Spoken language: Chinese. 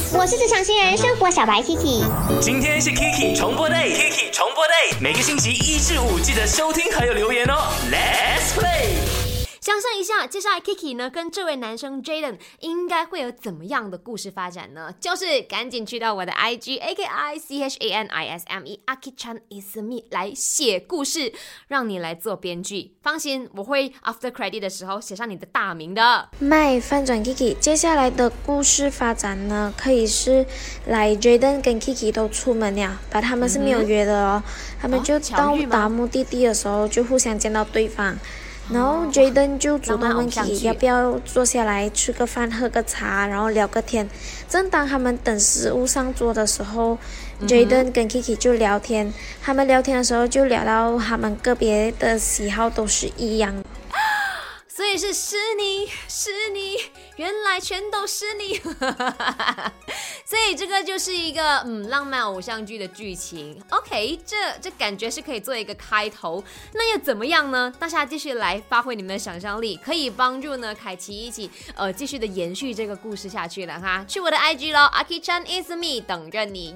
我是职场新人生活小白 Kiki。 今天是 Kiki 重播 day，Kiki 重播 day， 每个星期1至5记得收听还有留言哦。Let's play。 想象一下，接下来 Kiki 呢跟这位男生 Jaden 应该会有怎么样的故事发展呢？就是赶紧去到我的 IG AKICHANISME Aki-chan is me 来写故事，让你来做编剧。放心，我会 after credit 的时候写上你的大名的。 翻转 Kiki， 接下来的故事发展呢，可以是Jaden 跟 Kiki 都出门了，但他们是没有约的哦，他们就到达目的地的时候就互相见到对方。然后 Jaden 就主动问 Kiki 要不要坐下来吃个饭喝个茶，然后聊个天。正当他们等食物上桌的时候，Jaden 跟 Kiki 就聊天。他们聊天的时候就聊到他们个别的喜好都是一样的。 所以是你，原来全都是你。所以这个就是一个浪漫偶像剧的剧情。OK， 这感觉是可以做一个开头。那又怎么样呢？大家继续来发挥你们的想象力，可以帮助呢凯奇一起继续的延续这个故事下去了哈。去我的 IG 咯 ，Aki-chan is me 等着你。